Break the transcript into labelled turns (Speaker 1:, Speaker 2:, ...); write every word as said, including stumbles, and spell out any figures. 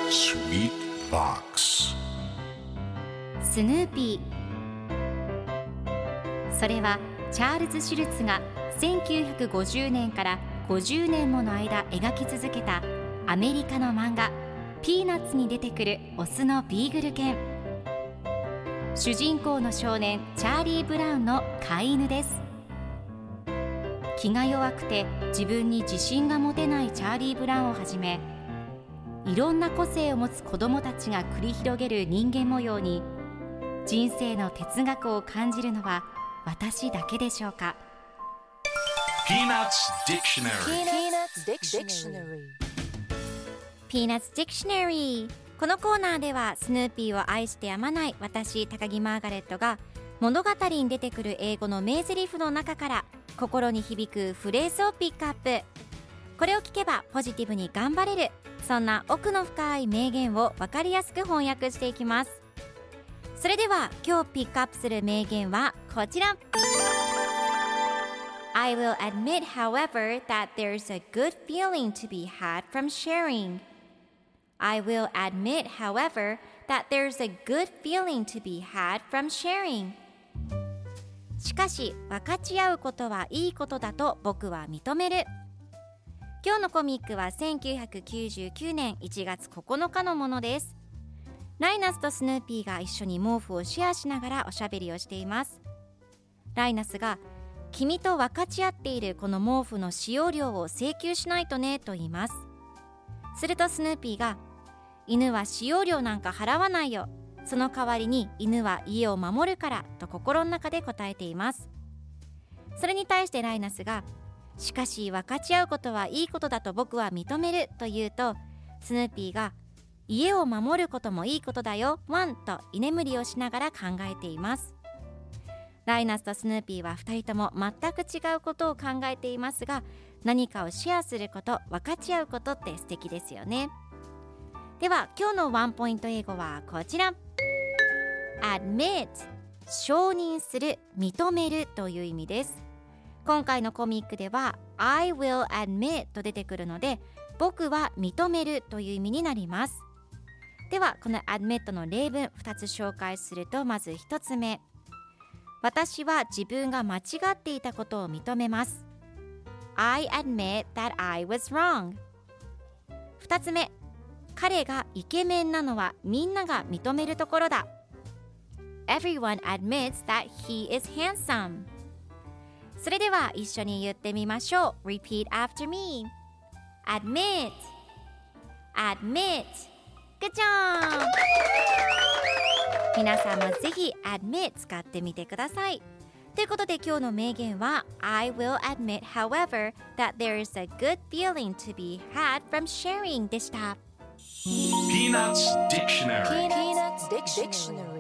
Speaker 1: Sweet Box
Speaker 2: スヌーピー。それはチャールズ・シュルツがせんきゅうひゃくごじゅうねんからごじゅうねんもの間描き続けたアメリカの漫画ピーナッツに出てくるオスのビーグル犬。主人公の少年チャーリー・ブラウンの飼い犬です。気が弱くて自分に自信が持てないチャーリー・ブラウンをはじめ、いろんな個性を持つ子どもたちが繰り広げる人間模様に人生の哲学を感じるのは私だけでしょうか。
Speaker 1: Peanuts Dictionary
Speaker 2: Peanuts Dictionary。 このコーナーではスヌーピーを愛してやまない私高木マーガレットが物語に出てくる英語の名台詞の中から心に響くフレーズをピックアップ。これを聞けばポジティブに頑張れる、そんな奥の深い名言を分かりやすく翻訳していきます。それでは今日ピックアップする名言はこちら。 I will admit, however, that there's a good feeling to be had from sharing. I will admit, however, that there's a good feeling to be had from sharing. しかし分かち合うことはいいことだと僕は認める。今日のコミックはせんきゅうひゃくきゅうじゅうきゅうねんいちがつここのかのものです。ライナスとスヌーピーが一緒に毛布をシェアしながらおしゃべりをしています。ライナスが君と分かち合っているこの毛布の使用料を請求しないとねと言います。するとスヌーピーが犬は使用料なんか払わないよ、その代わりに犬は家を守るからと心の中で答えています。それに対してライナスがしかし分かち合うことはいいことだと僕は認めると言うと、スヌーピーが家を守ることもいいことだよワンと居眠りをしながら考えています。ライナスとスヌーピーはふたりとも全く違うことを考えていますが、何かをシェアすること、分かち合うことって素敵ですよね。では今日のワンポイント英語はこちら。 Admit、 承認する、認めるという意味です。今回のコミックでは I will admit と出てくるので、僕は認めるという意味になります。ではこの admit の例文ふたつ紹介すると、まずひとつめ、私は自分が間違っていたことを認めます。 I admit that I was wrong。 ふたつめ、彼がイケメンなのはみんなが認めるところだ。 Everyone admits that he is handsome。 それでは一緒に言ってみましょう。 Repeat after me。 Admit Admit Good job。 皆さんもぜひ Admit 使ってみてください。ということで今日の名言は I will admit, however, that there is a good feeling to be had from sharing でした。
Speaker 1: Peanuts Dictionary
Speaker 3: Peanuts Dictionary